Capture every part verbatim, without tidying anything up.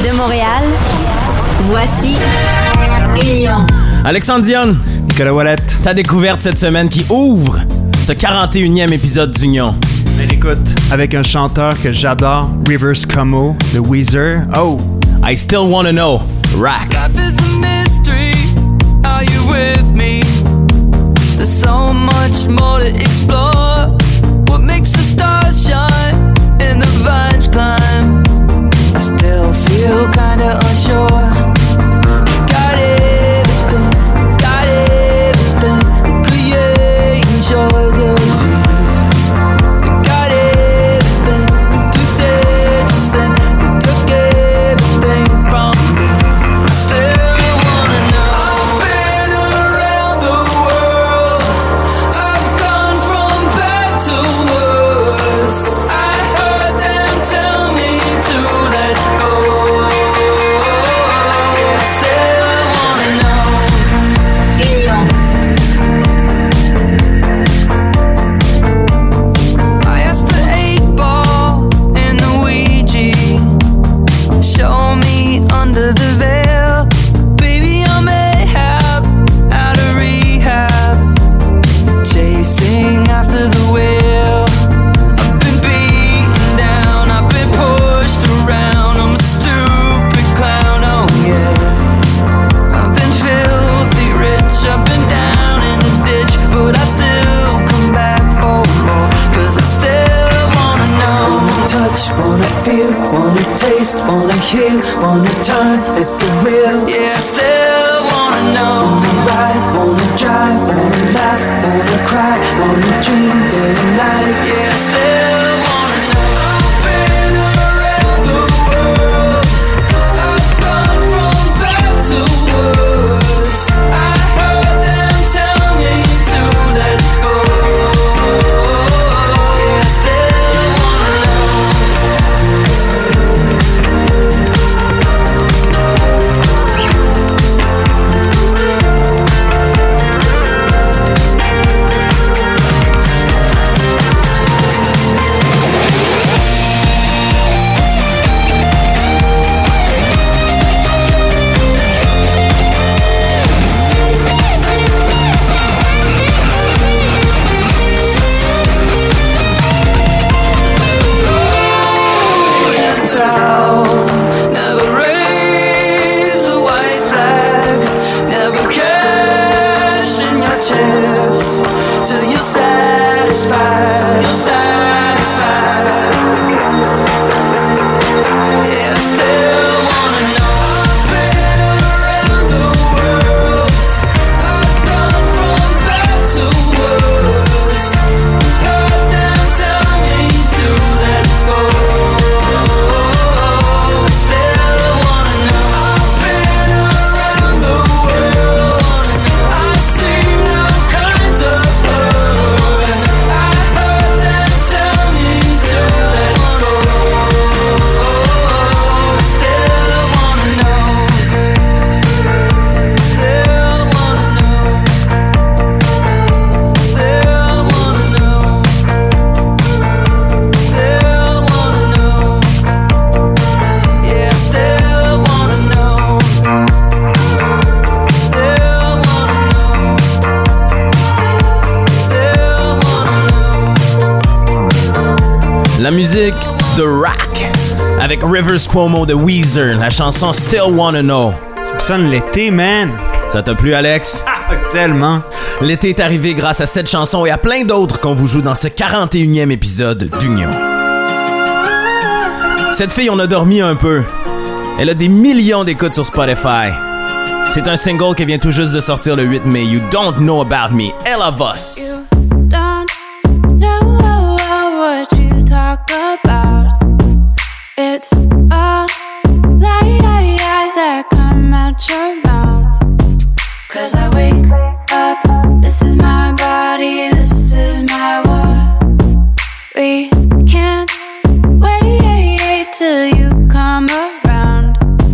De Montréal, voici Union. Alexandre Dion, Nicolas Ouellette. ta découverte cette semaine qui ouvre ce quarante et unième épisode d'Union. Ben écoute, avec un chanteur que j'adore, Rivers Cuomo de Weezer. Oh! I Still Wanna Know, Rack. Life is a mystery, are you with me? There's so much more to explore. What makes the stars shine and the vines climb? I still feel kinda unsure. Got everything, got everything. Creating joy, there's you. Got everything to say, to say. They took everything from me. I still wanna know. I've been around the world. I've gone from bad to worse. I heard them tell me to let go. I still wanna know. Union. I asked the eight ball and the Ouija, show me under the veil. Baby, I'm Ahab, out of rehab, chasing after the wheel. I've been beaten down, I've been pushed around. I'm a stupid clown, oh yeah. I've been filthy rich, I've been down in the ditch, but I still come back for more. Cause I still wanna know. Wanna touch, wanna feel, wanna taste, wanna heal, wanna turn at the wheel. Yeah, I still wanna know. Wanna ride, wanna drive, wanna laugh, wanna cry, wanna dream day and night. Yeah, I still wanna know. I've been around the world. I've gone from bad to worse. I heard them tell me to let go. Yeah, I still wanna know. In the town, never raise a white flag, never cash in your chips till you're satisfied, till you're satisfied. Yeah, I still wanna know. I've been around the world. I've gone from bad to worse. Heard them tell me to let go. I still wanna know. I've been around the world. I've seen all kinds of hurt. I heard them tell me to let go. I still wanna know. Still wanna know. Still wanna know. Still wanna know. Yeah, still wanna know. Still wanna know. Still wanna know. La musique de Rack avec Rivers Cuomo de Weezer, la chanson Still Wanna Know. Ça sonne l'été, man! Ça t'a plu, Alex? Ah, tellement! L'été est arrivé grâce à cette chanson et à plein d'autres qu'on vous joue dans ce quarante et unième épisode d'Union. Cette fille, on a dormi un peu. Elle a des millions d'écoutes sur Spotify. C'est un single qui vient tout juste de sortir le huit mai. You Don't Know About Me, All of Us. Don't know what you talk about. It's all lies that come out your mouth. Cause I wake up, this is my body, this is my war. We can't wait till you come around.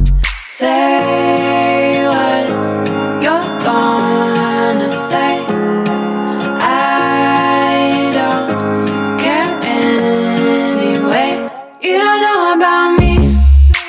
Say what you're gonna say. I don't care anyway. You don't know about me.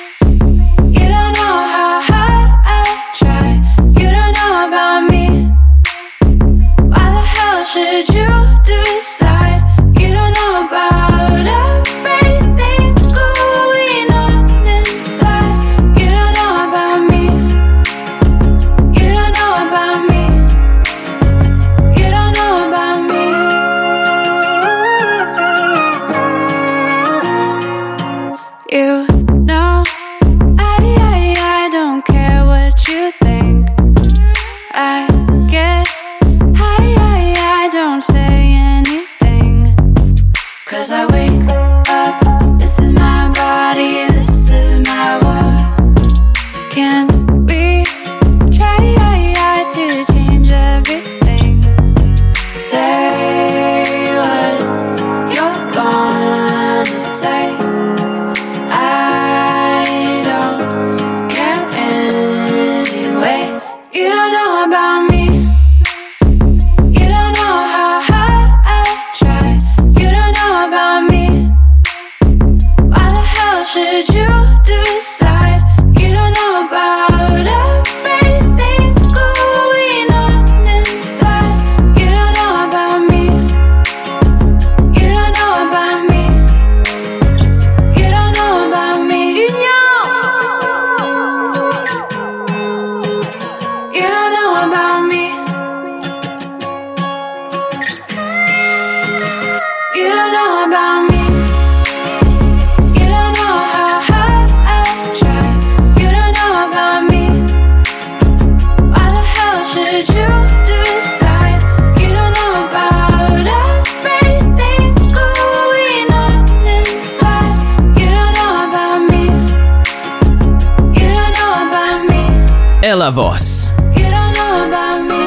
Ella Voss. You don't know about me.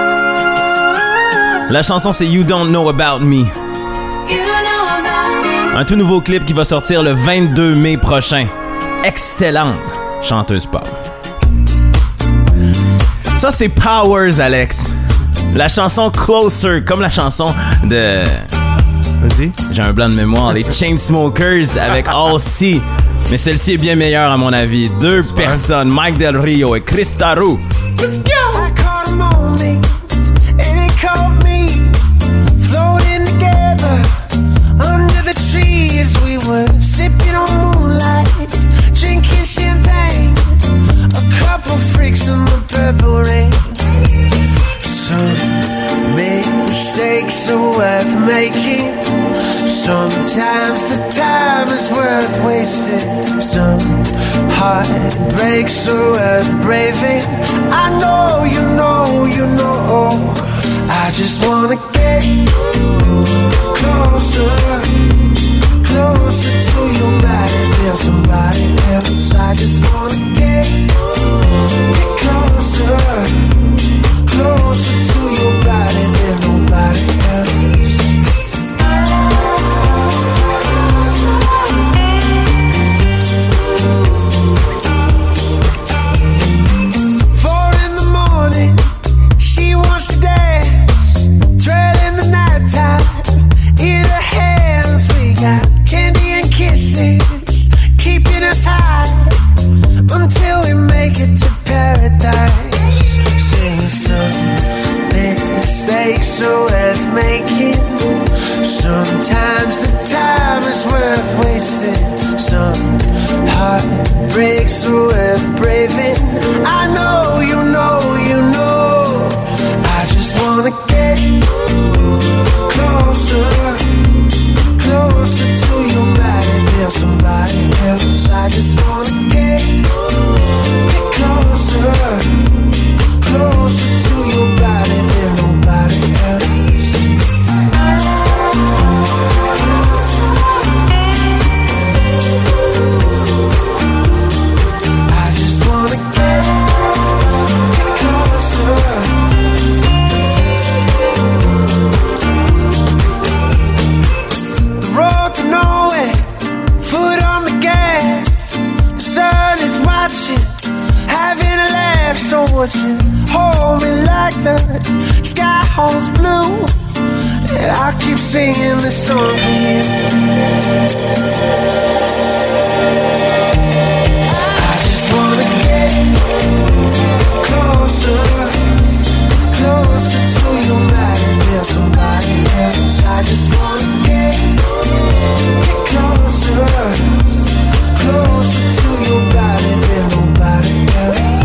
La chanson, c'est You Don't Know About Me. You don't know about me. Un tout nouveau clip qui va sortir le vingt-deux mai prochain. Excellente chanteuse pop. Ça, c'est Powers, Alex. La chanson Closer, comme la chanson de... Vas-y. J'ai un blanc de mémoire. Les Chainsmokers avec All C. Mais celle-ci est bien meilleure, à mon avis. Deux Super. personnes, Mike Del Rio et Chris Tarou. I caught a moment, and it caught me floating together under the trees. We were sipping on moonlight, drinking champagne. A couple freaks in the purple rain. Some mistakes are worth making. Sometimes the time is worth wasting. Some heartbreaks are worth braving. I know, you know, you know. I just wanna get closer, closer to your body than somebody else. I just wanna get, get closer, closer to your body than nobody else. Until we make it to paradise. Sing some mistakes are worth making. Sometimes the time is worth wasting. Some heartbreaks are worth braving. I know, you know, you know. I just wanna get closer, closer to your body than somebody else. I just wanna get, get closer, closer to your body than nobody else. I just wanna get, get closer. The road to nowhere, foot on the gas. The sun is watching, having a laugh. So would you hold me like the sky holds blue? And I keep singing this song for you. I just wanna get closer, closer to your body than somebody else. I just wanna get, get closer, closer to your body than nobody else.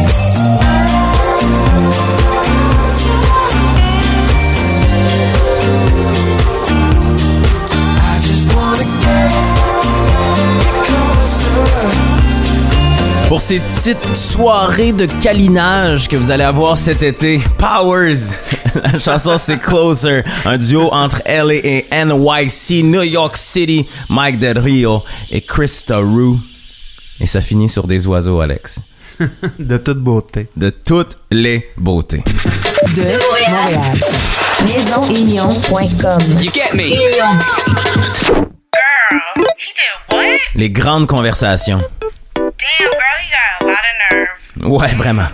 I just wanna get, get closer. Pour ces petites soirées de câlinage que vous allez avoir cet été, Powers. La chanson, c'est Closer, un duo entre L A et N Y C, New York City, Mike Del Rio et Chris Tarou. Et ça finit sur des oiseaux, Alex. De toute beauté. De toutes les beautés. De Montréal. maison union point com. You get me? Union. Girl, he did what? Les grandes conversations. Damn, girl, he got a lot of nerve. Ouais, vraiment.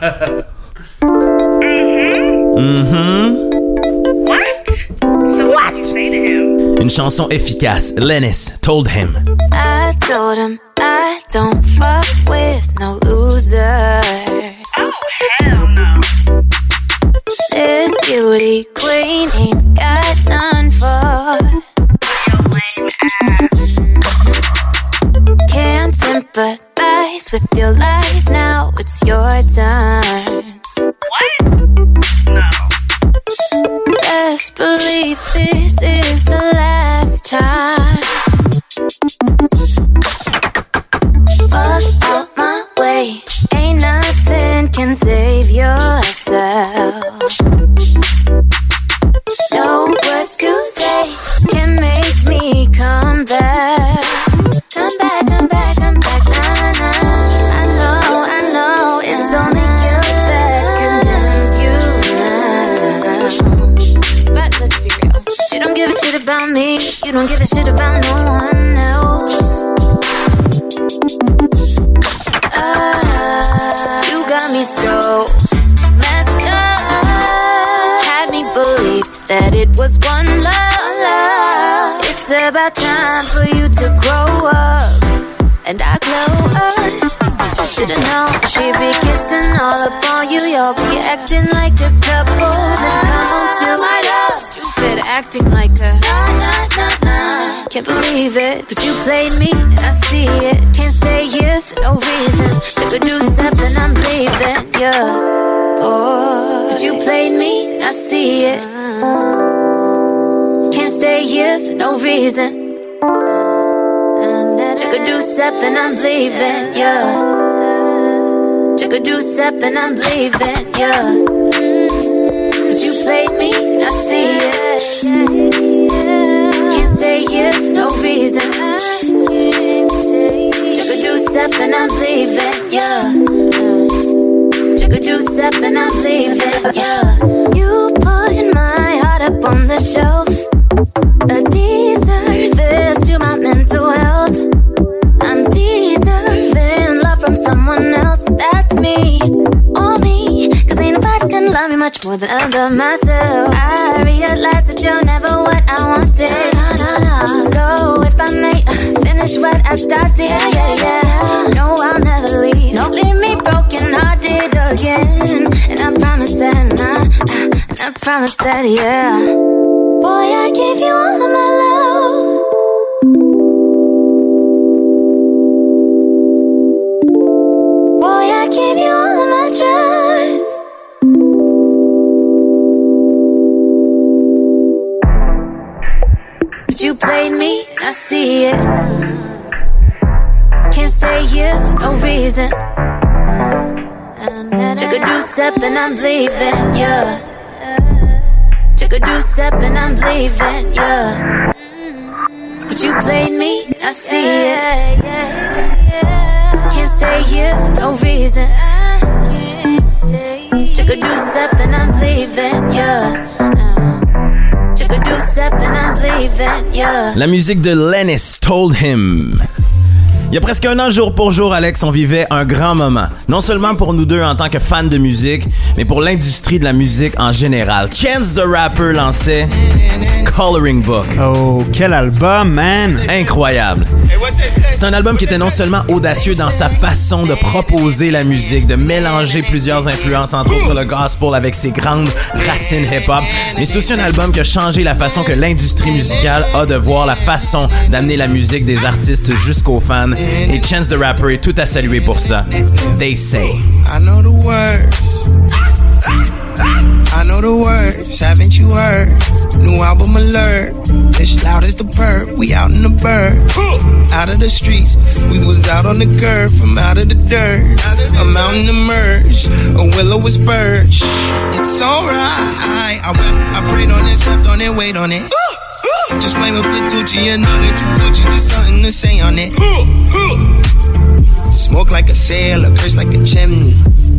Mm-hmm. Mm-hmm. What? So what did you say to him? Une chanson efficace. Lennis told him. I told him I don't fuck with no losers. Oh, hell no. This beauty queen ain't got none for. Your lame ass. Can't sympathize with your lies, now it's your turn. What? No. Best believe this is the last time. Fuck out my way, ain't nothing can save yourself. No words to say can make me come back. Come back, come back, come back, nah, nah. I know, I know, it's only you. about me. You don't give a shit about no one else. Ah, you got me so messed up. Had me believe that it was one love. It's about time for you to grow up. And I glow up. Should've known she'd be kissing all up on you. Y'all be acting like a couple. Then come on to my love. Stupid acting like a nah, nah, nah, nah. Can't believe it, but you played me and I see it. Can't stay here for no reason. Took a deuce step and I'm leaving, yeah. Oh, but you played me and I see it. Can't stay here for no reason. Took a deuce step and I'm leaving, yeah. Took a deuce step and I'm leaving, yeah. But you played me, I see it. Can't stay here for no reason. Took a deuce step and I'm leaving, yeah. Took a deuce step and I'm leaving, yeah. You put my heart up on the shelf. A disservice to my mental health. I'm deserving love from someone else. That's me, or me. Cause ain't nobody gonna love me much more than I love myself. I realize that you're never what I wanted. No, no, no. So if I may uh, finish what I started, yeah, yeah, yeah. No, I'll never leave. Don't leave me broken hearted again. And I promise that, and I, uh, and I promise that, yeah. Boy, I gave you all of my love. Boy, I gave you all of my trust. But you played me, I see it. Can't stay here for no reason. Took a deuce step and I'm leaving, yeah. Took a deuce step and I'm leaving, yeah. But you played me, I see it. Can't stay here for no reason. Took a deuce step and I'm leaving, yeah. Took a deuce step and I'm leaving, yeah. La musique de Lennis, Told Him. Il y a presque un an, jour pour jour, Alex, on vivait un grand moment. Non seulement pour nous deux en tant que fans de musique, mais pour l'industrie de la musique en général. Chance the Rapper lançait Coloring Book. Oh, quel album, man! Incroyable. C'est un album qui était non seulement audacieux dans sa façon de proposer la musique, de mélanger plusieurs influences, entre autres le gospel avec ses grandes racines hip-hop, mais c'est aussi un album qui a changé la façon que l'industrie musicale a de voir la façon d'amener la musique des artistes jusqu'aux fans. Et Chance the Rapper est tout à saluer pour ça. They Say. I know the words. I know the words, haven't you heard? New album alert. It's loud as the perp. We out in the bird. Out of the streets. We was out on the curb. From out of the dirt. A mountain emerged. A willow was birch. It's alright. I went, I prayed on it, slept on it, wait on it. Just flame up the Tucci and all that Gucci, just something to say on it. Smoke like a sailor, curse like a chimney.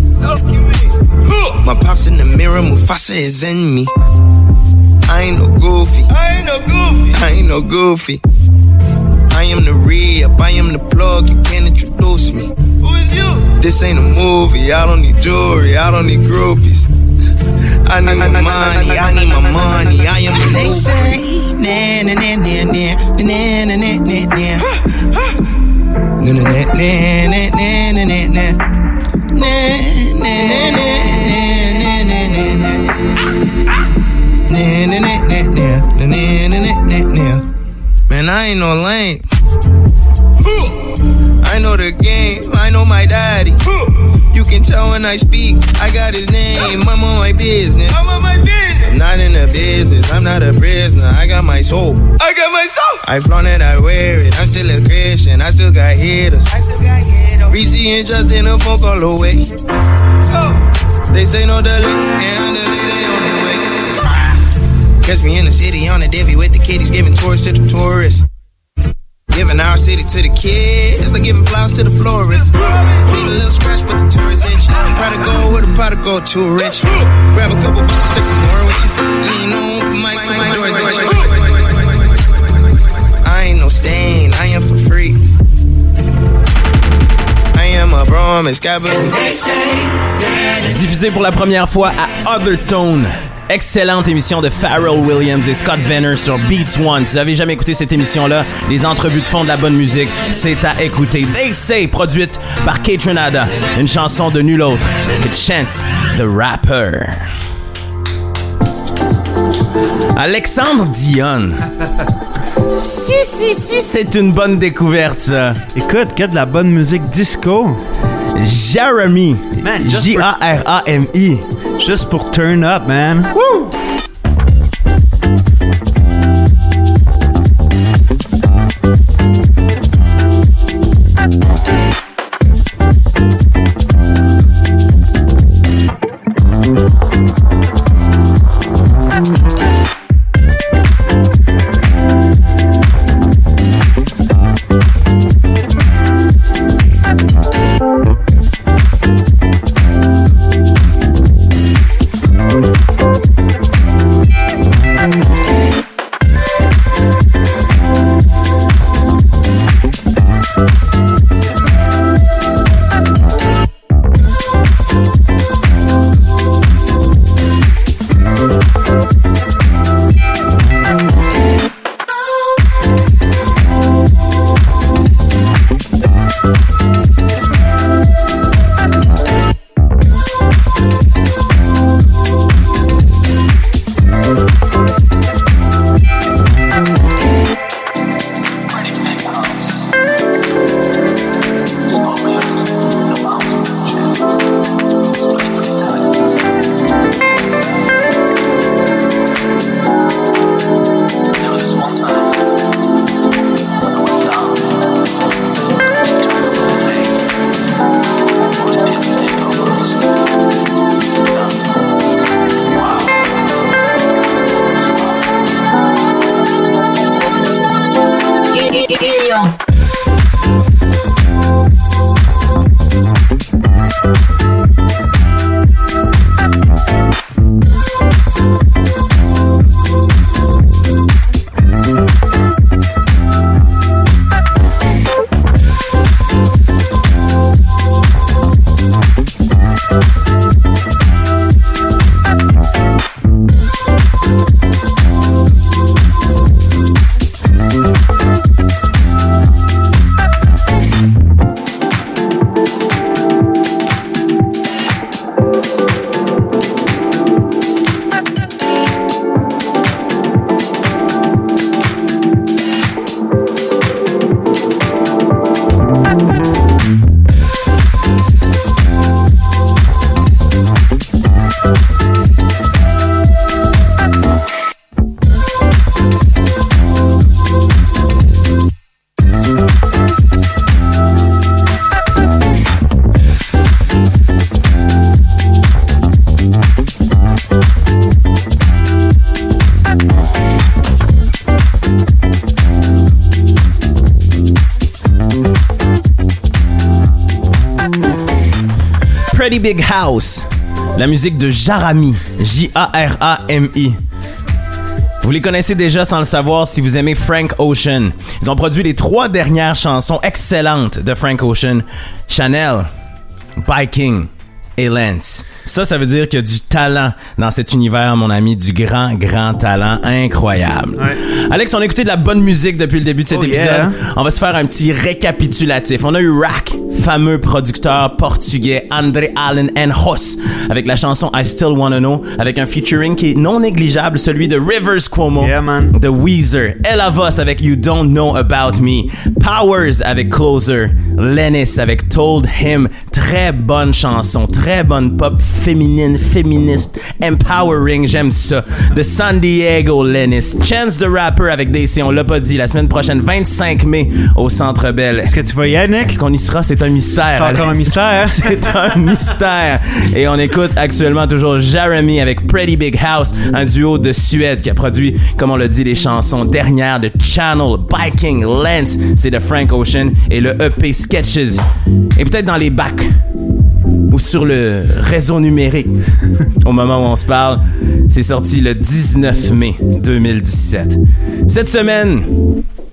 My pops in the mirror, Mufasa is in me. I ain't no goofy. I ain't no goofy. I ain't no goofy. I am the re-up, I am the plug, you can't introduce me. Who is you? This ain't a movie, I don't need jewelry, I don't need groupies. I need my money, I need my money, I am a they say. Na na na na na na na na na na. Na na na na na na na na. Na na na na na na na na. Na na na na na na na na na. Man, I ain't no lame. I know the game, I know my daddy. You can tell when I speak, I got his name. I'm on my business. I'm on my business. I'm not in the business, I'm not a prisoner. I got my soul. I got my soul. I flaunt it, I wear it. I'm still a Christian, I still got haters. I still got haters. Reese and Justin, a folk all the way. Oh. They say no delay, and delay they on the way. Catch me in the city on the Debbie with the kiddies, giving tours to the tourists. Giving our city to the kids, like giving flowers to the florists. Need a little scratch, but the tourist itch. Prodigal with a prodigal, too rich. Grab a couple bucks, take some more with you. You ain't no open mic, so my doors itch. no stain, I am for free. I am a promise, Diffusé pour la première fois à Othertone. Excellente émission de Pharrell Williams et Scott Venner sur Beats One. Si vous n'avez jamais écouté cette émission-là, les entrevues de fond de la bonne musique, c'est à écouter. They Say, produite par Kaytranada, une chanson de nul autre que Chance the Rapper. Alexandre Dion. Si, si, si, c'est une bonne découverte, ça. Écoute, qu'il y a de la bonne musique disco. Jeremy. J A R A M I. Juste pour turn up, man. Woo! Pretty Big House, la musique de Jarami, J A R A M I. Vous les connaissez déjà sans le savoir si vous aimez Frank Ocean. Ils ont produit les trois dernières chansons excellentes de Frank Ocean, Chanel, Biking et Lance. Ça, ça veut dire qu'il y a du talent dans cet univers, mon ami, du grand, grand talent incroyable. Ouais. Alex, on a écouté de la bonne musique depuis le début de cet oh épisode. Yeah. On va se faire un petit récapitulatif. On a eu Rack, fameux producteur portugais, André Allen and Hoss, avec la chanson I Still Wanna Know, avec un featuring qui est non négligeable, celui de Rivers Cuomo, yeah, man. de Weezer, Ella Voss avec You Don't Know About Me, Powers avec Closer, Lennis avec Told Him, très bonne chanson, très bonne pop féminine, féministe, empowering, j'aime ça. De San Diego, Lennis, Chance the Rapper avec D C, on l'a pas dit, la semaine prochaine, vingt-cinq mai, au Centre Bell. Est-ce que tu vas y aller, Nick? Est-ce qu'on y sera? C'est un mystère. C'est encore un mystère. C'est un mystère. Et on écoute actuellement toujours Jeremy avec Pretty Big House, un duo de Suède qui a produit, comme on l'a dit, les chansons dernières de Channel, Biking, Lance, c'est de Frank Ocean, et le E P Sketches. Et peut-être dans les bacs ou sur le réseau numérique. Au moment où on se parle, c'est sorti le dix-neuf mai deux mille dix-sept. Cette semaine,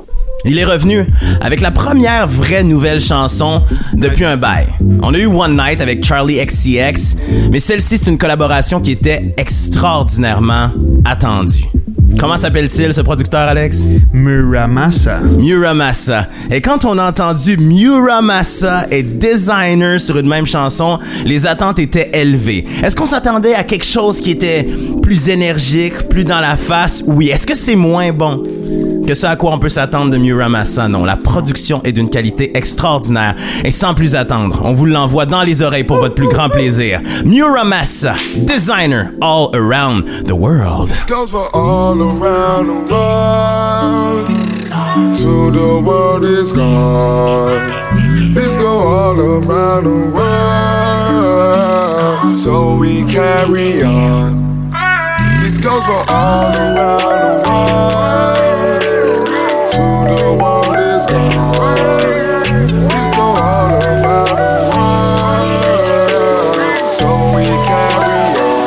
Il est revenu avec la première vraie nouvelle chanson depuis un bail. On a eu One Night avec Charlie X C X, mais celle-ci, c'est une collaboration qui était extraordinairement attendue. Comment s'appelle-t-il, ce producteur, Alex? Muramasa. Muramasa. Et quand on a entendu Muramasa et Designer sur une même chanson, les attentes étaient élevées. Est-ce qu'on s'attendait à quelque chose qui était plus énergique, plus dans la face? Oui. Est-ce que c'est moins bon que ce à quoi on peut s'attendre de Muramasa? Non. La production est d'une qualité extraordinaire. Et sans plus attendre, on vous l'envoie dans les oreilles pour votre plus grand plaisir. Muramasa, Designer, All Around the World. This goes for all around the world. To the world is gone. This go all around the world. So we carry on. This goes for all around the world. To the world is gone. This go all around the world. So we carry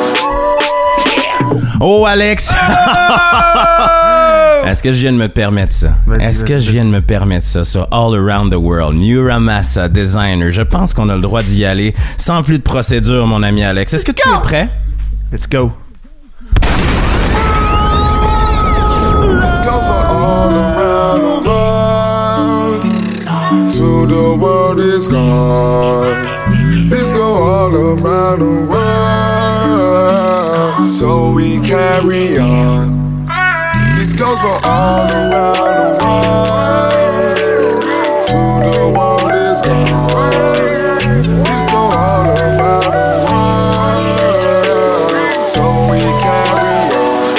on. Oh, Alex! Est-ce que je viens de me permettre ça? Vas-y, Est-ce que vas-y, je viens de me permettre ça sur All Around the World? Muramasa, Designer. Je pense qu'on a le droit d'y aller sans plus de procédure, mon ami Alex. Est-ce que tu es prêt? Let's go. This goes for all around the world. To the world is gone. This go all around the world. So we carry on. This goes for all around the world. To the world is gone. This go all around the world. So we carry on.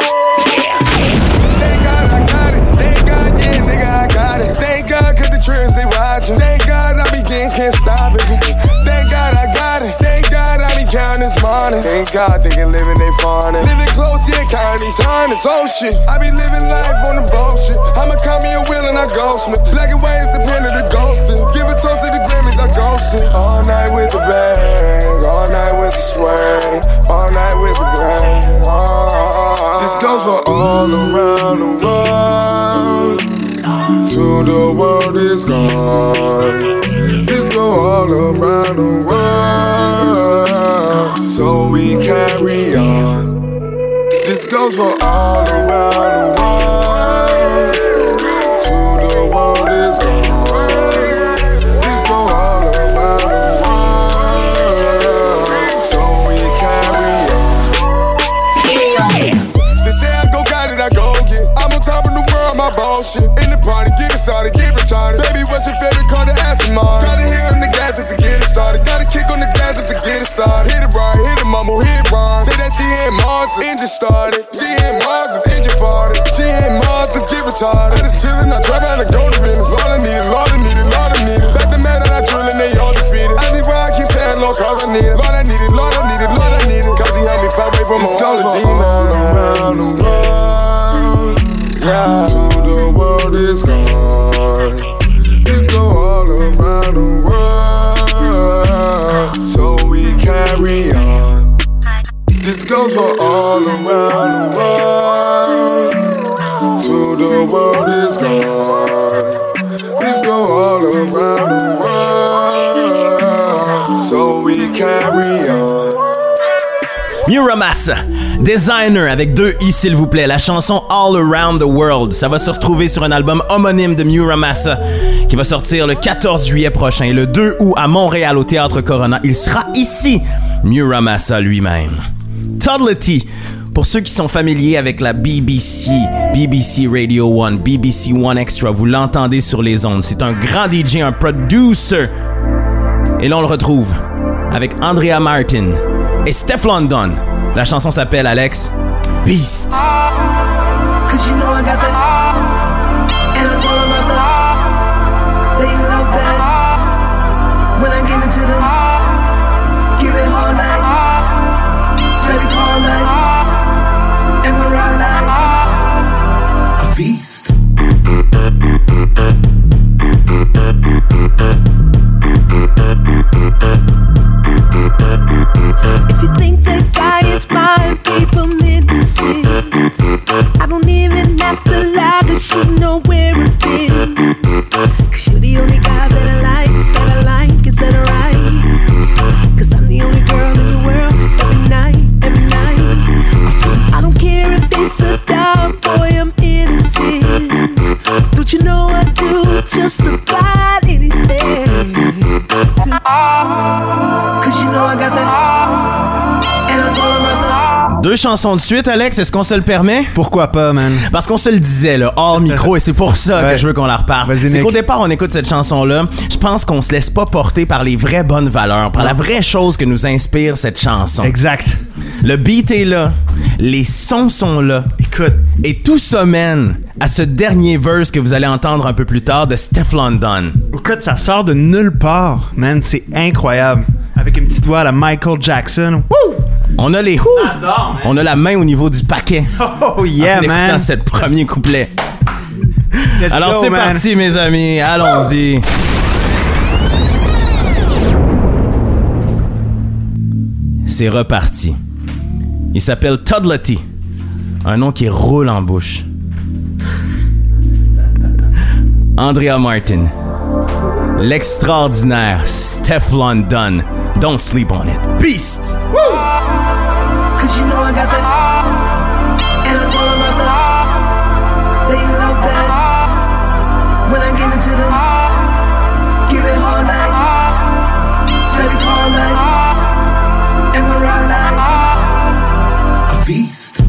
Thank God I got it. Thank God, yeah, nigga, I got it. Thank God, cause the trends they watching. Thank God I be getting, can't stop it. Thank God I got it. Thank God I be counting this money. Thank God they can live in they fawning. Living close, yeah, counting these hundreds. Oh shit, I be living life on the bullshit. I'ma call me a wheel and I ghostman. Black and white is the pen of the ghosting. Give a toast to the Grammys, I ghosting. All night with the bang, all night with the swing, all night with the bang. Oh, this goes for all around the world. To the world is gone. This go all around the world. So we carry on. This goes for all around the world. To the world is gone. This go all around the world. So we carry on. They say I go got it, I go get. I'm on top of the world, my bullshit. In the party, get it started, get retarded. Baby, what's your favorite car to ask him on? Gotta hit on the gas to get it started. Gotta kick on the gas to get it started. Hit it right, hit it mumble, hit it wrong. Say that she ain't Mars, the engine started. She ain't Mars, the engine farted. She ain't Mars, let's get retarded. I just chillin', I drive out and go to Venice. Lord, I need it, Lord, I need it, Lord, I need it. Back the man that I drill and they all defeated. I be where I keep saying, Lord, cause I need it. Lord, I need it, Lord, I need it, Lord, I need it. Cause he helped me fight away from all the demons. All around the world. Yeah. To the world is gone. This go all around the world. So we carry on. This goes for all around the world. To the world is gone. This go all around the world. So we carry on. Muramasa, Designer avec deux i s'il vous plaît, la chanson All Around the World. Ça va se retrouver sur un album homonyme de Muramasa qui va sortir le quatorze juillet prochain. Et le deux août à Montréal au Théâtre Corona, il sera ici, Muramasa lui-même. Toddlety, pour ceux qui sont familiers avec la B B C, B B C Radio one, B B C One Extra, vous l'entendez sur les ondes. C'est un grand D J, un producer. Et là, on le retrouve avec Andrea Martin et Steph London. La chanson s'appelle, Alex, Beast. Cause you know I got that, and I'm all about that. They love that. When I give it to them, give it all night. Try to call night, and we're all night. A beast. If you think that guy is fine, people need to see. I don't even have to Cause you know I got that. And I'm all about that. Deux chansons de suite, Alex, est-ce qu'on se le permet? Pourquoi pas, man? Parce qu'on se le disait, là, hors micro, et c'est pour ça ouais. que je veux qu'on la reparle. Vas-y, c'est Nick. qu'au départ, on écoute cette chanson-là, je pense qu'on se laisse pas porter par les vraies bonnes valeurs, par la vraie chose que nous inspire cette chanson. Exact. Le beat est là, les sons sont là. Écoute. Et tout ça mène à ce dernier verse que vous allez entendre un peu plus tard de Steph London. Écoute, ça sort de nulle part, man. C'est incroyable. Avec une petite voix à la Michael Jackson. Woo! On a les whoo! On a la main au niveau du paquet. Oh yeah, en man. écoutant cette premier couplet. Let's Alors go, c'est man. parti, mes amis. Allons-y. C'est reparti. Il s'appelle Toddlety. Un nom qui roule en bouche. Andrea Martin. L'extraordinaire Steph London. Don't sleep on it. Beast! Woo! Cause you know I got that. And I'm all about that. They love that. When I give it to them, give it hard like Freddie Call like and Mariah like a beast.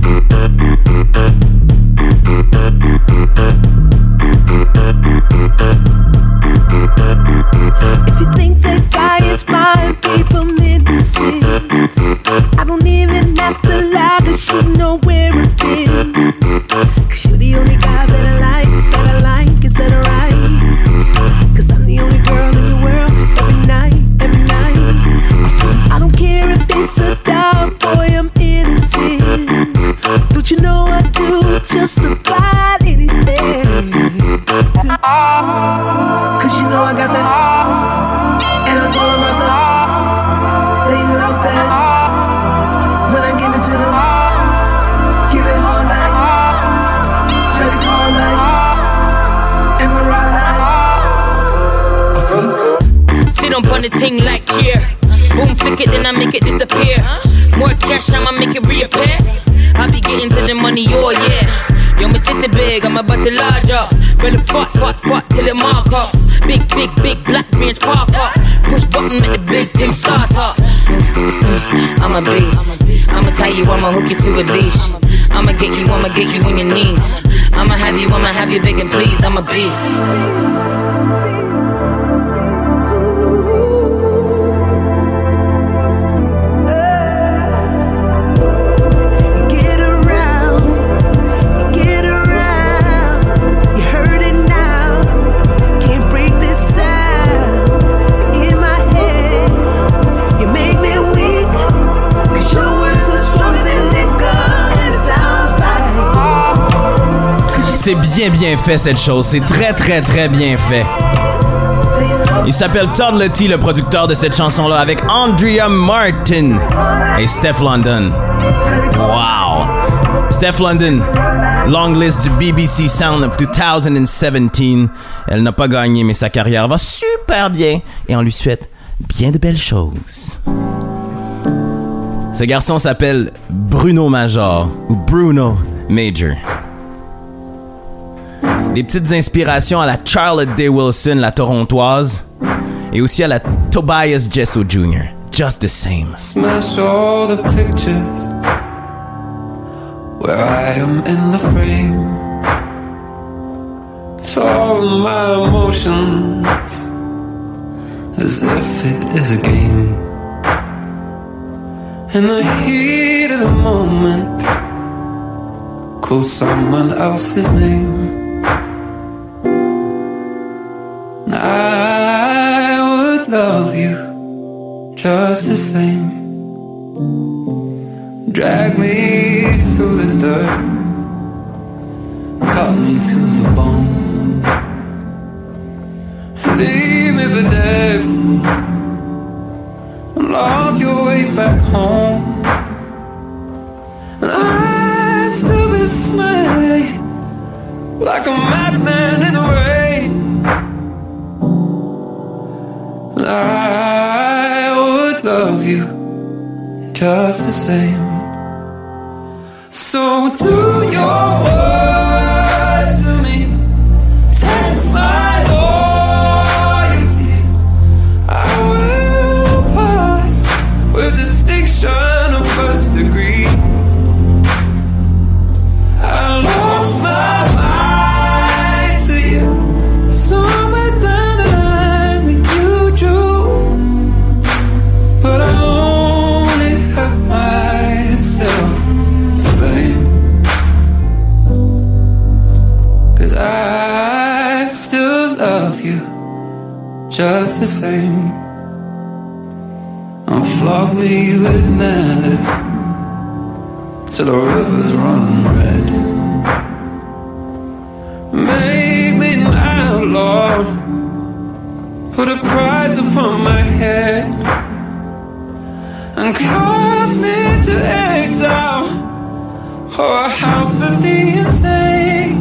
If you think that guy is mine, people need to see. I don't even have to lie, cause you know where I've been. Cause you're the only guy that I like, that I like, is that alright? Cause I'm the only girl in your world, every night, every night. I don't care if it's a dime, boy, I'm innocent. Don't you know I do just about anything to Cause you know I got that. And I'm all about that. They love that. When I give it to them, give it hard like Freddie Call like and Mariah like a beast. Sit up on the ting like cheer. Boom, flick it, then I make it disappear. More cash, I'ma make it reappear. I be getting to the money, oh yeah. Yo, my titty big, I'm about to large up. Better fuck, fuck, fuck till it mark up. Big, big, big black range park up. Push button, make the big thing start up. Mm-mm-mm. I'm a beast. I'ma tie you, I'ma hook you to a leash. I'ma get you, I'ma get you on your knees. I'ma have you, I'ma have you begging please. I'm a beast. C'est bien bien fait cette chose, c'est très très très bien fait. Il s'appelle Toddlety, le producteur de cette chanson-là, avec Andrea Martin et Steph London. Wow! Steph London, long list du B B C Sound of twenty seventeen. Elle n'a pas gagné, mais sa carrière va super bien et on lui souhaite bien de belles choses. Ce garçon s'appelle Bruno Major ou Bruno Major. Des petites inspirations à la Charlotte Day Wilson, la torontoise, et aussi à la Tobias Jesso Junior Just the same. Smash all the pictures where I am in the frame. Torn my emotions as if it is a game. In the heat of the moment, call someone else's name. I would love you just the same. Drag me through the dirt, cut me to the bone, leave me for dead, and love your way back home. And I'd still be smiling like a madman in the rain. I would love you just the same. So do your words to me, test my loyalty. I will just the same. And flog me with malice till the river's running red. Make me an outlaw, put a price upon my head, and cause me to exile, or a house for the insane.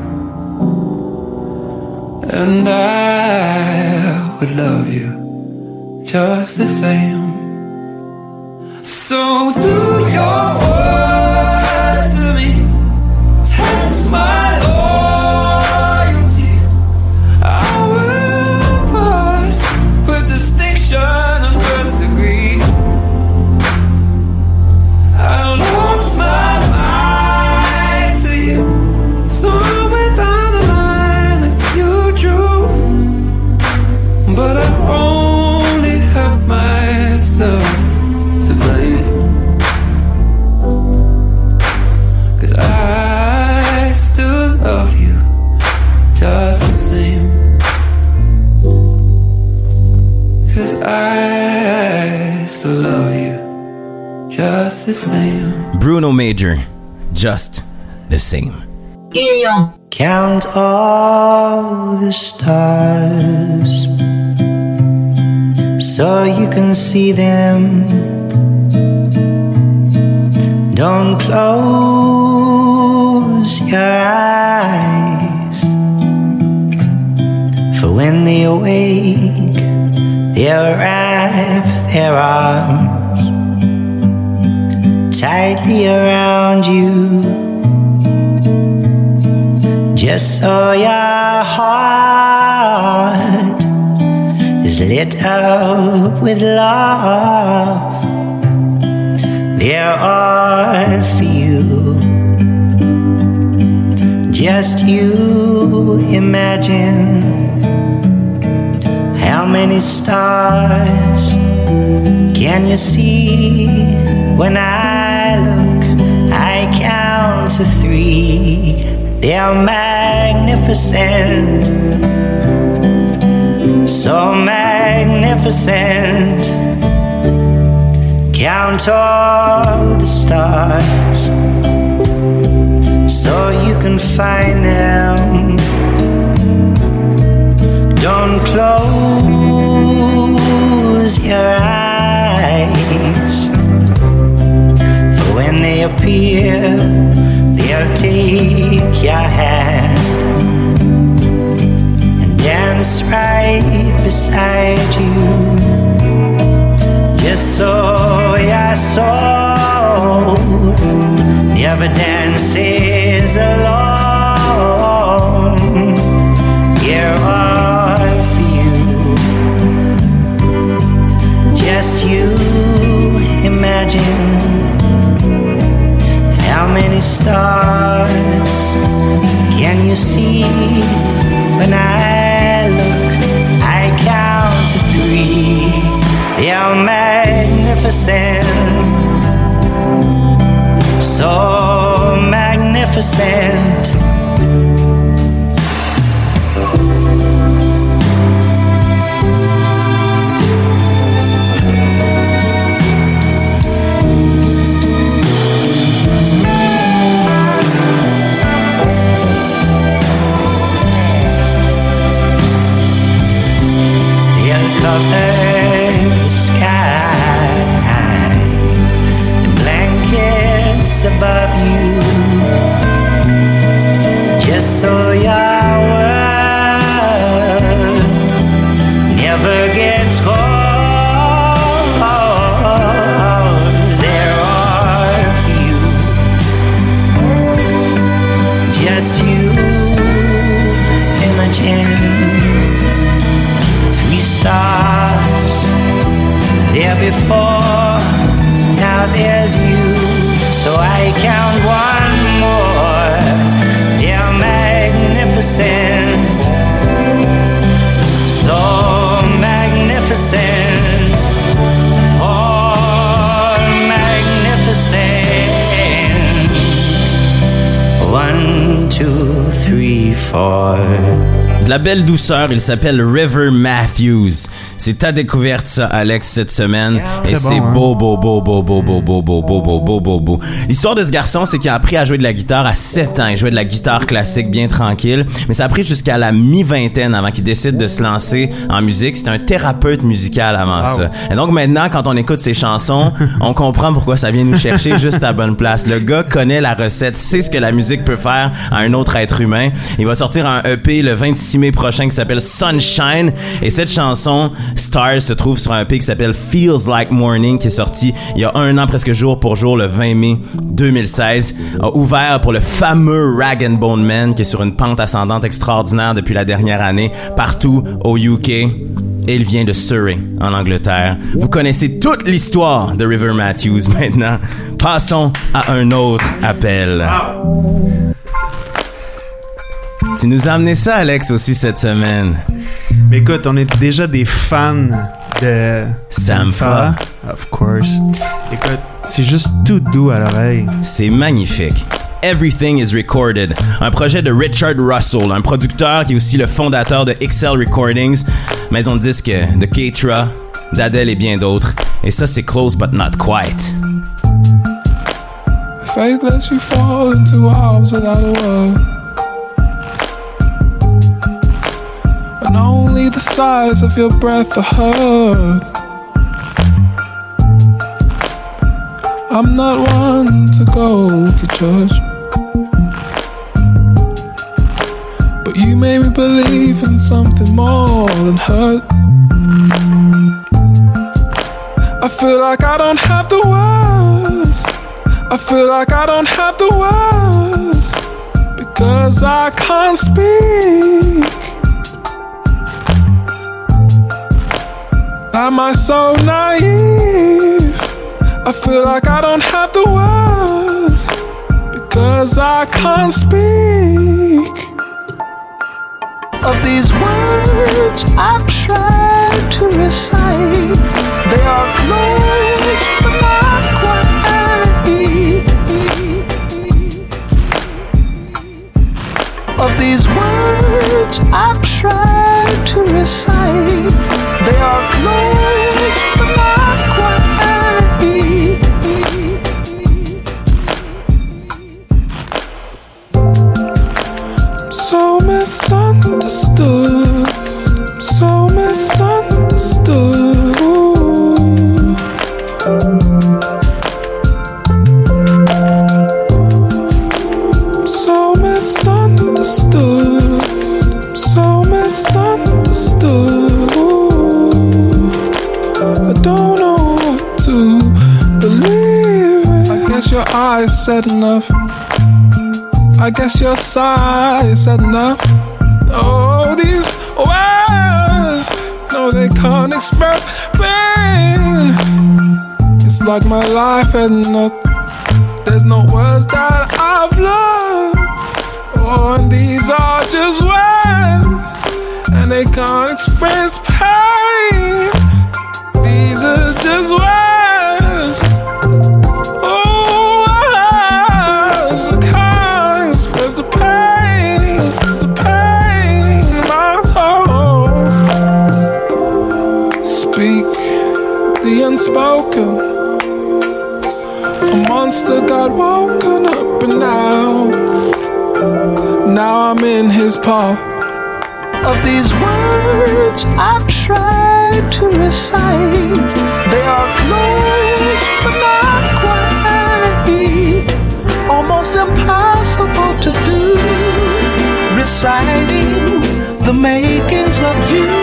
And I would love you just the same. So do your worst to me, test my loyalty. I will pass with distinction of first degree. I lost my mind to you, somewhere down the line that you drew, but I only have myself to blame, 'cause I still love you just the same, 'cause I still love you just the same. Bruno Major, Just the Same. Union. Count all the stars so you can see them. Don't close your eyes, for when they awake, they'll wrap their arms tightly around you, just so your heart is lit up with love. They're all for you. Just you imagine how many stars can you see when I look. I count to three. They're magnificent, so magnificent. Count all the stars so you can find them. Don't close your eyes, for when they appear, they'll take your hand and dance right beside you, just so your soul never dances alone. You're all for you, just you imagine how many stars can you see when I look. I count to three. You're magnificent, so magnificent. Cover the sky, the blankets above you, just so your world never gets cold. They're all for you, just you imagine. Stars there before, now there's you, so I count one more. They're magnificent, so magnificent, oh magnificent. One, two, three, four. De la belle douceur, il s'appelle River Matthews. C'est ta découverte, ça, Alex, cette semaine. Et c'est beau, beau, beau, beau, beau, beau, beau, beau, beau, beau, beau, beau, beau. L'histoire de ce garçon, c'est qu'il a appris à jouer de la guitare à sept ans. Il jouait de la guitare classique bien tranquille. Mais ça a pris jusqu'à la mi-vingtaine avant qu'il décide de se lancer en musique. C'était un thérapeute musical avant ça. Et donc maintenant, quand on écoute ses chansons, on comprend pourquoi ça vient nous chercher juste à la bonne place. Le gars connaît la recette, sait ce que la musique peut faire à un autre être humain. Il va sortir un E P le vingt-six mai prochain qui s'appelle Sunshine. Et cette chanson, Stars, se trouve sur un E P qui s'appelle Feels Like Morning, qui est sorti il y a un an presque jour pour jour, le vingt mai deux mille seize. A ouvert pour le fameux Rag and Bone Man, qui est sur une pente ascendante extraordinaire depuis la dernière année, partout au U K. Et il vient de Surrey, en Angleterre. Vous connaissez toute l'histoire de River Matthews maintenant. Passons à un autre appel. Tu nous as amené ça, Alex, aussi cette semaine. Mais écoute, on est déjà des fans de Sampha. Of course. Écoute, c'est juste tout doux à l'oreille. C'est magnifique. Everything is Recorded, un projet de Richard Russell, un producteur qui est aussi le fondateur de X L Recordings, maison de disques de Keitra, d'Adele et bien d'autres. Et ça, c'est Close But Not Quite. Faith lets you fall into arms without a word, and only the size of your breath are heard. I'm not one to go to church, but you made me believe in something more than hurt. I feel like I don't have the words. I feel like I don't have the words, because I can't speak. Am I so naive? I feel like I don't have the words, because I can't speak. Of these words I've tried to recite, they are close but not quite. Of these words I've tried to recite, they are close but not quite. I'm so misunderstood, I'm so misunderstood. I'm so misunderstood, I'm so misunderstood. I don't know what to believe in. I guess your eyes said enough, I guess your sighs said enough. Oh, these words, no, they can't express pain. It's like my life had enough. There's no words that I've learned. Oh, and these are just words, and they can't express pain. These are just words. Oh, words that can't express the pain. It's the pain in my soul. Speak the unspoken. A monster got woken up, and now, now I'm in his paw. Of these words I've tried to recite, they are close but not quite. Almost impossible to do, reciting the makings of you.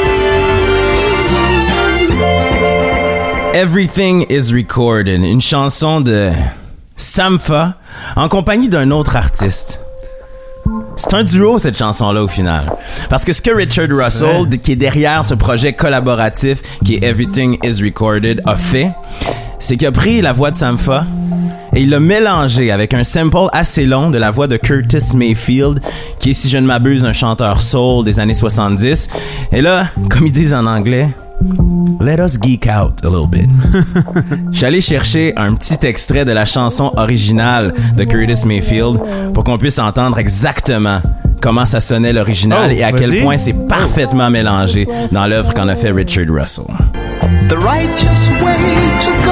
Everything is Recorded, une chanson de Sampha en compagnie d'un autre artiste. C'est un duo, cette chanson-là, au final. Parce que ce que Richard Russell, qui est derrière ce projet collaboratif qui est Everything is Recorded, a fait, c'est qu'il a pris la voix de Sampha et il l'a mélangé avec un sample assez long de la voix de Curtis Mayfield, qui est, si je ne m'abuse, un chanteur soul des années soixante-dix. Et là, comme ils disent en anglais, let us geek out a little bit. Je suis allé chercher un petit extrait de la chanson originale de Curtis Mayfield pour qu'on puisse entendre exactement comment ça sonnait l'original Oh, et à quel vas-y. point c'est parfaitement mélangé dans l'œuvre qu'en a fait Richard Russell. The righteous way to go.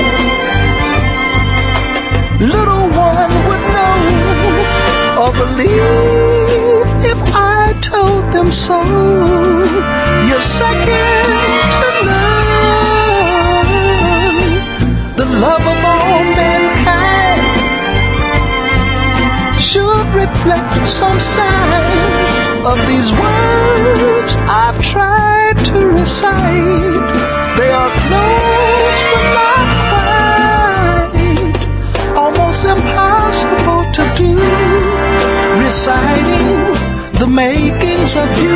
Little one would know or believe if I told them so. You're second to none. The love of all mankind should reflect some sign of these words I've tried to recite. They are close but not quite, almost impossible to do, reciting the makings of you.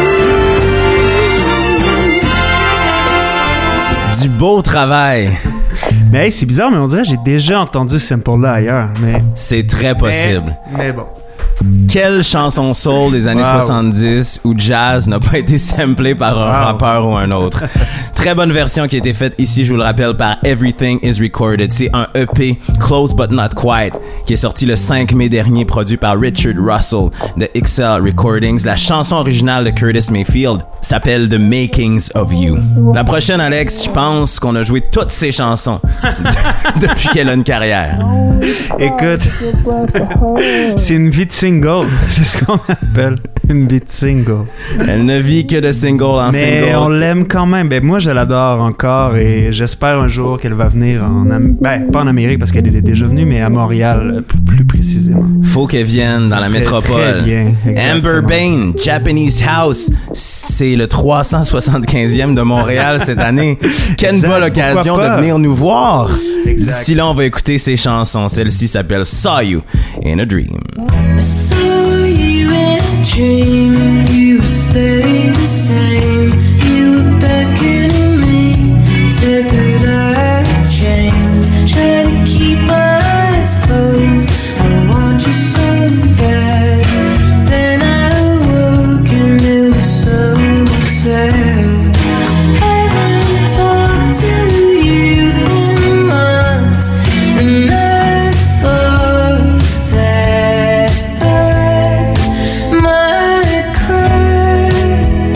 Du beau travail. Mais hey, c'est bizarre, mais on dirait que j'ai déjà entendu ce sample-là ailleurs. Mais... C'est très possible. Mais, mais bon. Quelle chanson soul des années Wow. soixante-dix où jazz n'a pas été samplé par un Wow. rappeur ou un autre? Très bonne version qui a été faite ici, je vous le rappelle, par Everything is Recorded. C'est un E P, Close But Not Quite, qui est sorti le cinq mai dernier, produit par Richard Russell de X L Recordings. La chanson originale de Curtis Mayfield s'appelle The Makings of You. La prochaine, Alex, je pense qu'on a joué toutes ces chansons depuis qu'elle a une carrière. Écoute, c'est une vie de single. C'est ce qu'on appelle une vie de single. Elle ne vit que de single en Mais single. on l'aime quand même. Ben, moi, je l'adore encore et j'espère un jour qu'elle va venir en... Am- ben, pas en Amérique parce qu'elle est déjà venue, mais à Montréal, p- plus précisément. Faut qu'elle vienne dans Ça la serait métropole. très bien, exactement. Amber Bain, Japanese House, c'est le trois cent soixante-quinzième de Montréal cette année. Quelle Exact, bonne occasion pourquoi de pas? venir nous voir. Exact. D'ici là, on va écouter ses chansons. Celle-ci s'appelle Saw You in a Dream. I saw you in a dream, you stayed the same. You were beckoning me, said that I'd change. Try to keep my eyes closed, I want you so bad. Then I awoke and it was so sad. Haven't talked to you in months, and I thought that I might cry,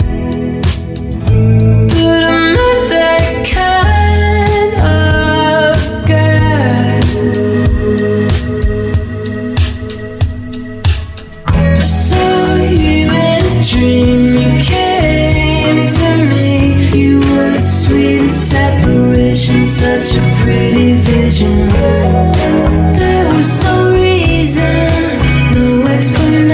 but I'm not that kind of guy. I saw you in a dream, you came to me. You were the sweetest separation, such a pretty vision. There was no reason, no explanation,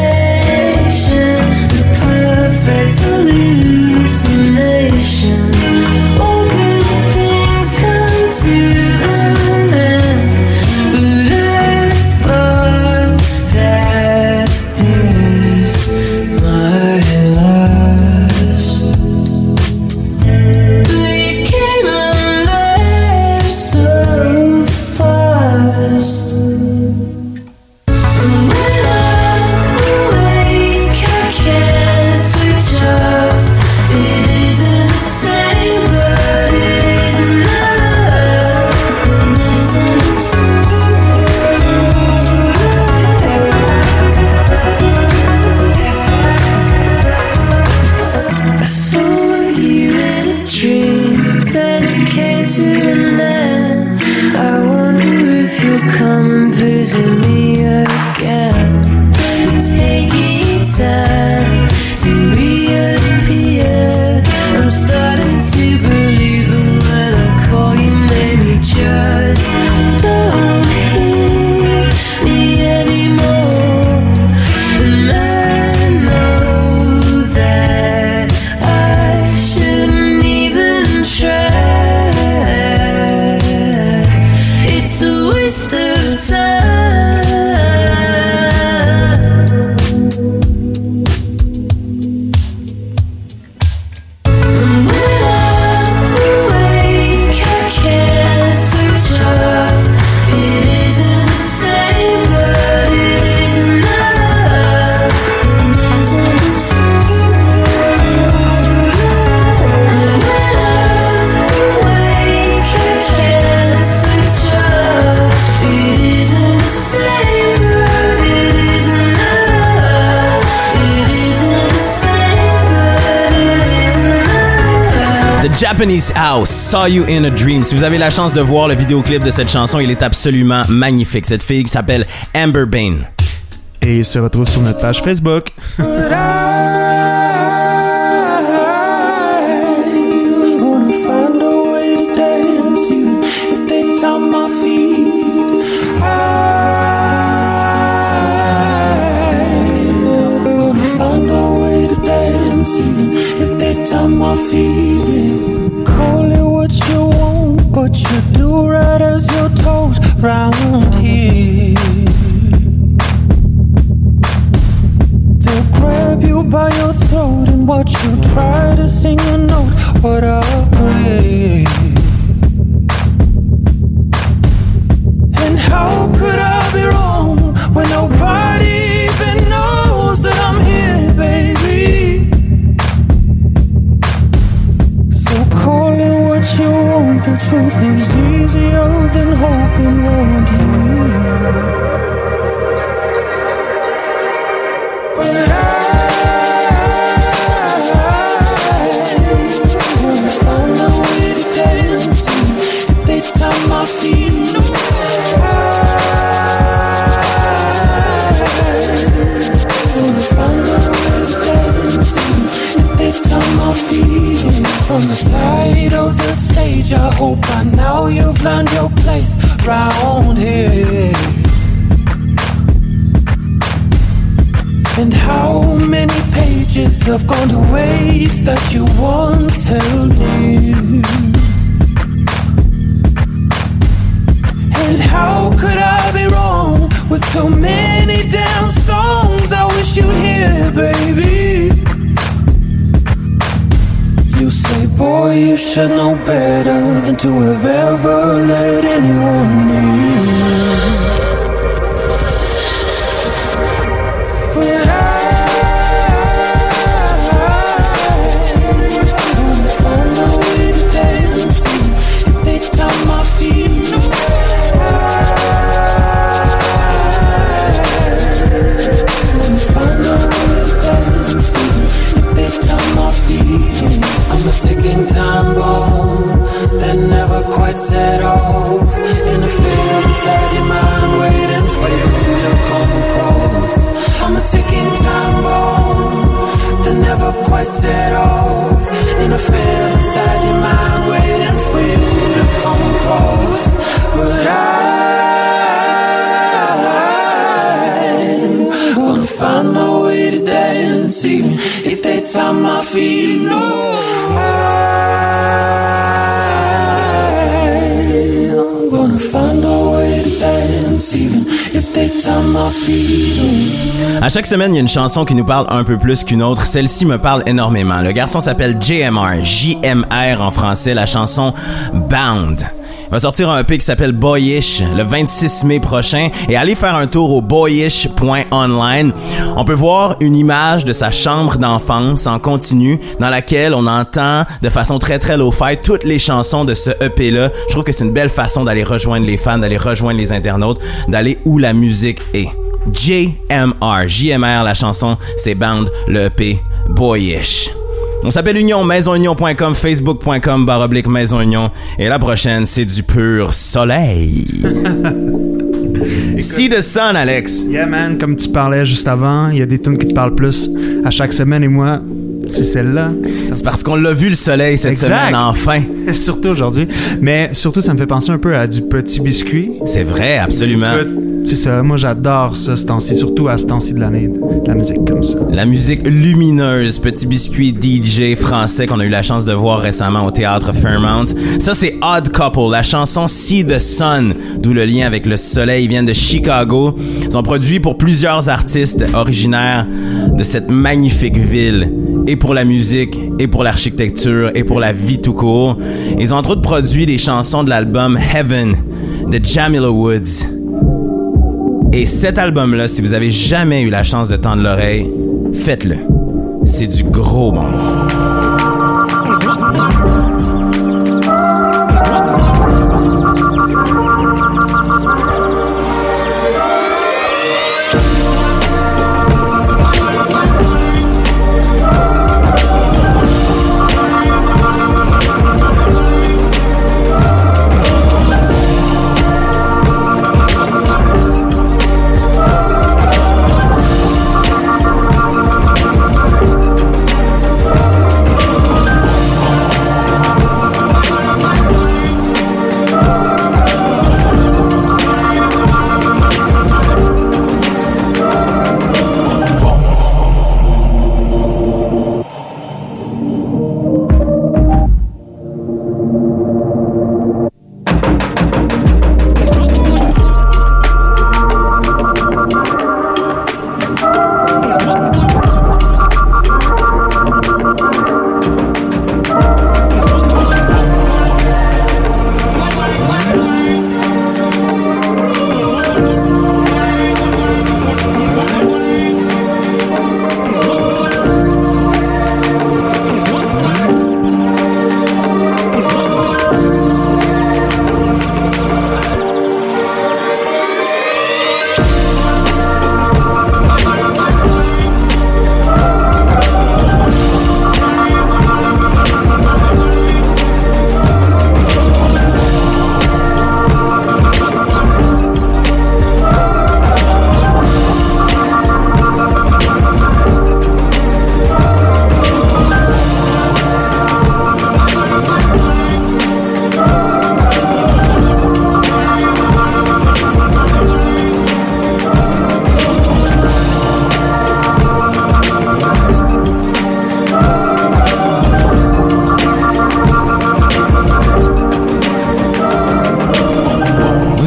the perfect hallucination. All good things come to an end, but I thought that this might last. But you came and left so fast. And when I'm awake, I can't switch off. It isn't the same, but it is enough. It isn't the same. I saw you in a dream, then it came to an end. I wonder if you'll come and visit me again. You're taking time to reappear. I'm starting to believe that when I call your name, you just don't hear me anymore. And I know that I shouldn't even try. It's a waste of time. Japanese House, Saw You in a Dream. Si vous avez la chance de voir le vidéoclip de cette chanson, il est absolument magnifique. Cette fille qui s'appelle Amber Bain. Et il se retrouve sur notre page Facebook. Even if they tie my feet in. Call it what you want, but you do right as your toes round here. They'll grab you by your throat and watch you try to sing a note. What a grade. And how could I be wrong when nobody even knows that I'm here, baby? Call it what you want, the truth is easier than hoping around here. But I wanna find a way to dance if they tie my feet. No, I wanna find a way to dance if they tie my feet. From the side of the stage, I hope by now you've learned your place round here. And how many pages have gone to waste that you once held dear? And how could I be wrong with so many damn songs I wish you'd hear, baby? You say, boy, you should know better than to have ever let anyone near. But I wanna find a way to dance if they tie my feet. No, I wanna find a way to dance if they tie my feet. I'm a ticking time bomb that never quite set off. In a field inside your mind, waiting for you to come across. I'm a ticking time bomb that never quite set off. In a field inside your mind, waiting for you to come across. But I'm gonna find my way to dance, even if they tie my feet. No. I'm gonna find a way to dance even if they tie my feet. À chaque semaine, il y a une chanson qui nous parle un peu plus qu'une autre. Celle-ci me parle énormément. Le garçon s'appelle J M R, J M R en français, la chanson Bound. Il va sortir un E P qui s'appelle Boyish le vingt-six mai prochain et allez faire un tour au boyish point online. On peut voir une image de sa chambre d'enfance en continu dans laquelle on entend de façon très très low-fi toutes les chansons de ce E P-là. Je trouve que c'est une belle façon d'aller rejoindre les fans, d'aller rejoindre les internautes, d'aller où la musique est. J M R, J M R, la chanson, c'est Bound, le E P Boyish. On s'appelle Union, maison union point com, facebook point com, barre oblique Maison Union. Et la prochaine, c'est du pur soleil. See the sun, Alex. Yeah, man, comme tu parlais juste avant, il y a des tunes qui te parlent plus à chaque semaine et moi, c'est celle-là. C'est parce qu'on l'a vu le soleil cette exact. semaine, enfin. Surtout aujourd'hui. Mais surtout, ça me fait penser un peu à du Petit Biscuit. C'est vrai, absolument. C'est ça, moi j'adore ça ce temps-ci, surtout à ce temps-ci de l'année, de la musique comme ça. La musique lumineuse, Petit Biscuit D J français qu'on a eu la chance de voir récemment au théâtre Fairmount. Ça c'est Odd Couple, la chanson See the Sun, d'où le lien avec le soleil, ils viennent de Chicago. Ils ont produit pour plusieurs artistes originaires de cette magnifique ville, et pour la musique, et pour l'architecture, et pour la vie tout court. Ils ont entre autres produit les chansons de l'album Heaven de Jamila Woods. Et cet album-là, si vous avez jamais eu la chance de tendre l'oreille, faites-le. C'est du gros bonbon.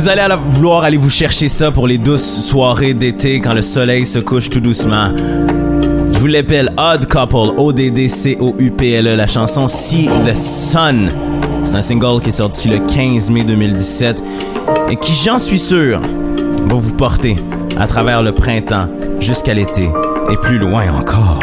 vous allez alla- vouloir aller vous chercher ça pour les douces soirées d'été quand le soleil se couche tout doucement. Je vous l'appelle Odd Couple, O D D C O U P L E, la chanson See the Sun. C'est un single qui est sorti le quinze mai deux mille dix-sept et qui, j'en suis sûr, va vous porter à travers le printemps jusqu'à l'été et plus loin encore.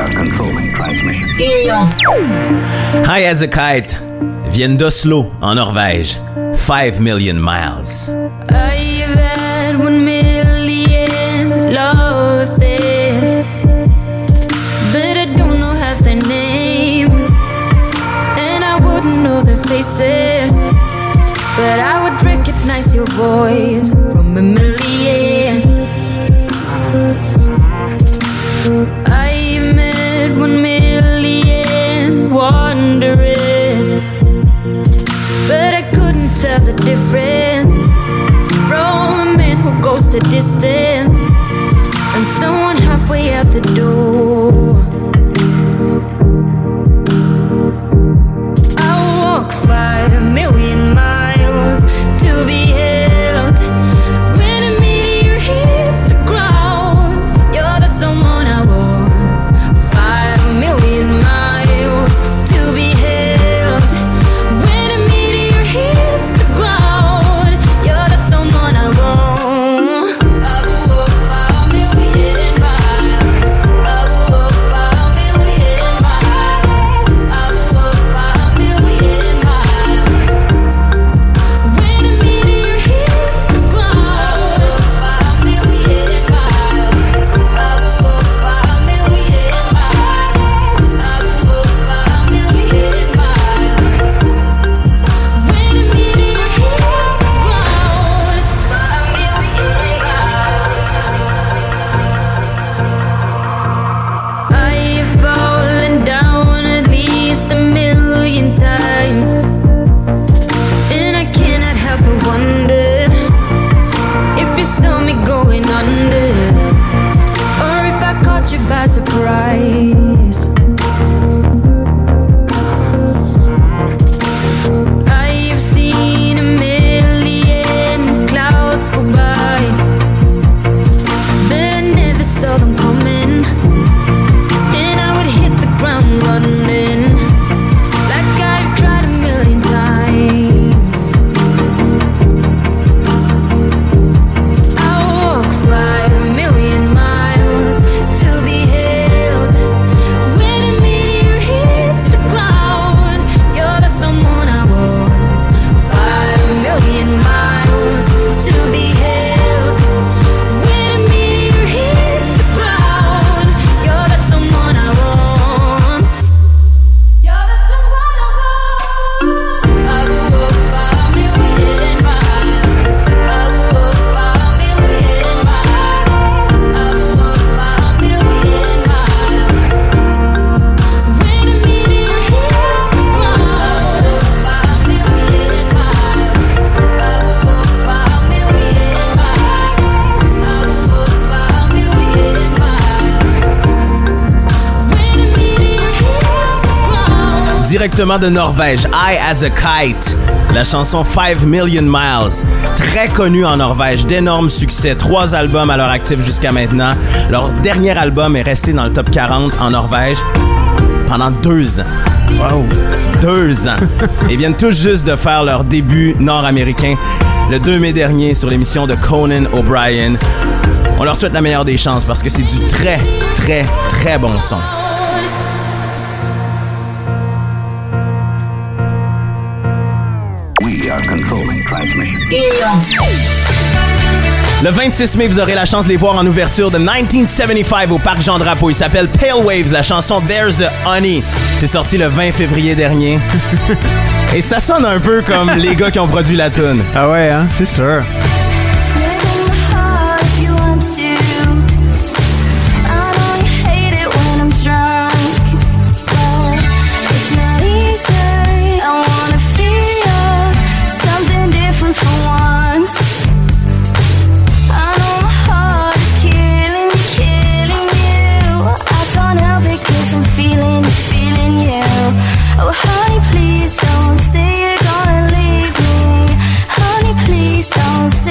High as a Kite viennent d'Oslo, en Norvège. Five million miles. I've had one million love affairs, but I don't know half their names, and I wouldn't know their faces, but I would recognize your voice from a million. I met one million wanderers, but I couldn't tell the difference from a man who goes the distance and someone halfway out the door. I walk five million miles to be held. When a meteor hits the ground, you're that someone I want. Five million miles to be held. When a meteor hits the ground, you're that someone I want. I will walk five million miles. I will walk five million miles. I will walk five million miles. When a meteor hits the ground, five million miles. I will walk five million miles. I will walk five million miles. When a meteor hits the ground, five million miles. I've fallen down at least a million times, and I cannot help but wonder if you saw me going under, or if I caught you by surprise. I've seen a million clouds go by, but I never saw them coming, and I would hit the ground running like I've tried a million times. I walk five million miles to be held. When a meteor hits the ground, you're that someone I want. Five million miles to be held. When a meteor hits the ground, you're that someone I want. You're that someone I want. I will walk five million miles. I will walk five million miles. I will walk five million miles. When a meteor hits the ground, I will walk five million miles. I will walk five million miles. I will walk five million miles. When a meteor hits the ground. Directement de Norvège, High as a Kite, la chanson Five Million Miles, très connue en Norvège, d'énormes succès, trois albums à leur actif jusqu'à maintenant. Leur dernier album est resté dans le top quarante en Norvège pendant deux ans. Wow! Deux ans. Ils viennent tous juste de faire leur début nord-américain le deux mai dernier sur l'émission de Conan O'Brien. On leur souhaite la meilleure des chances parce que c'est du très, très, très bon son. We are controlling transmission. Le vingt-six mai, vous aurez la chance de les voir en ouverture de dix-neuf soixante-quinze au Parc Jean-Drapeau. Il s'appelle Pale Waves, la chanson There's a Honey. C'est sorti le vingt février dernier. Et ça sonne un peu comme les gars qui ont produit la tune. Ah ouais, hein, c'est sûr. Oh, honey, please don't say you're gonna leave me. Honey, please don't say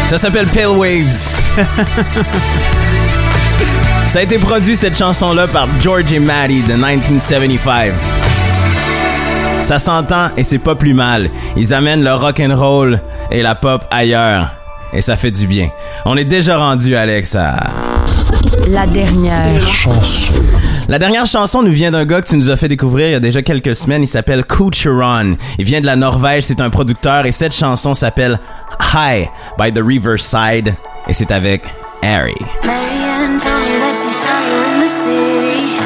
Ça s'appelle Pale Waves. Ça a été produit, cette chanson-là, par George et Maddie de dix-neuf soixante-quinze. Ça s'entend et c'est pas plus mal. Ils amènent le rock'n'roll et la pop ailleurs. Et ça fait du bien. On est déjà rendu, Alex, à... La dernière chanson. La dernière chanson nous vient d'un gars que tu nous as fait découvrir il y a déjà quelques semaines. Il s'appelle Kucheron. Il vient de la Norvège, c'est un producteur et cette chanson s'appelle High by the Riverside et c'est avec Harry. Marianne told me that she saw you in the city,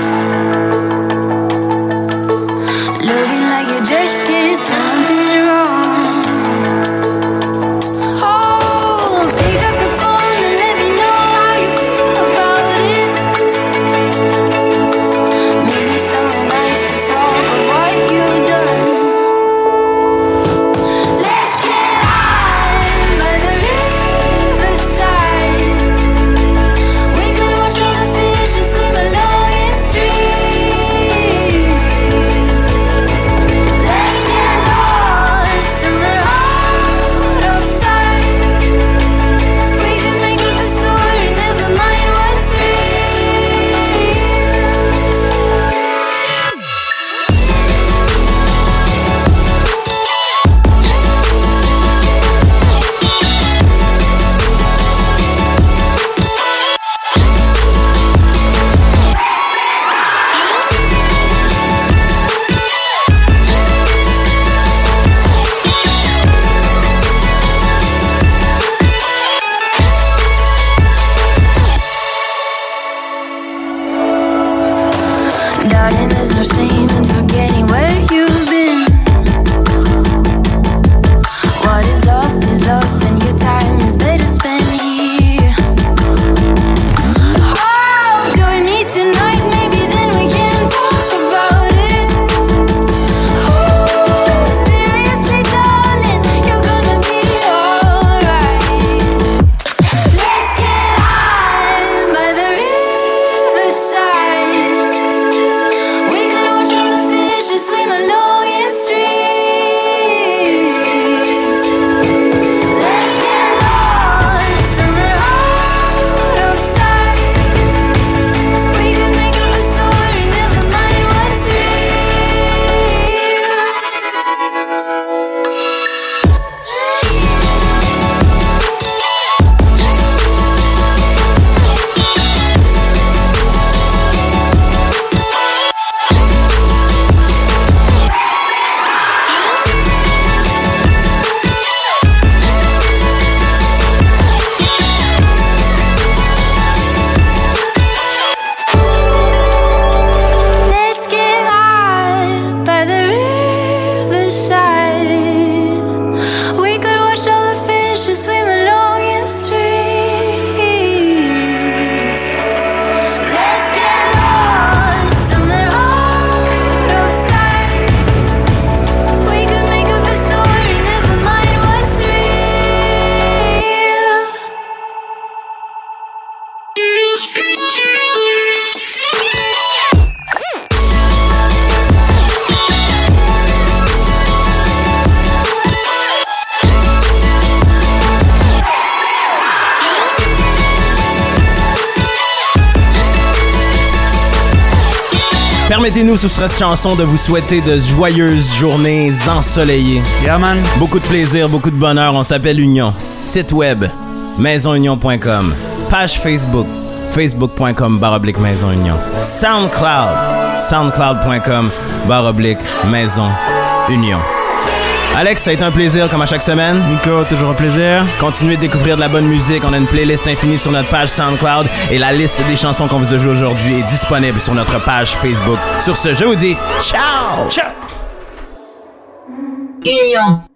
looking like you just did something wrong. Oh, pick up the phone and let me know how you feel about it. Meet me somewhere nice to talk of what you've done. Let's get high by the riverside. We could watch all the fish and swim along in streams. Let's get lost somewhere out of sight. We could make up a story, never mind what's Darling, there's no shame in forgetting where you've been. What is lost is lost, and your time is better spent here. Oh, join me tonight, maybe then we can talk about it. Oh, seriously, darling, you're gonna be alright. Let's get high by the riverside. We could watch all the fish and swim along in streams. Let's get lost somewhere out of sight. We could make up a story, never mind what's Let's get high by the riverside. We could watch all the fish and swim along in streams. Let's get lost somewhere out of sight. We could make up a story, never mind what's real. Permettez-nous sous cette chanson de vous souhaiter de joyeuses journées ensoleillées. Yeah, man. Beaucoup de plaisir, beaucoup de bonheur. On s'appelle Union. Site web, maison union point com. Page Facebook, facebook point com barre oblique Maison Union. SoundCloud, soundcloud point com barre oblique Maison Union. Alex, ça a été un plaisir comme à chaque semaine. Nico, toujours un plaisir. Continuez de découvrir de la bonne musique. On a une playlist infinie sur notre page SoundCloud et la liste des chansons qu'on vous a jouées aujourd'hui est disponible sur notre page Facebook. Sur ce, je vous dis ciao! Ciao! Union.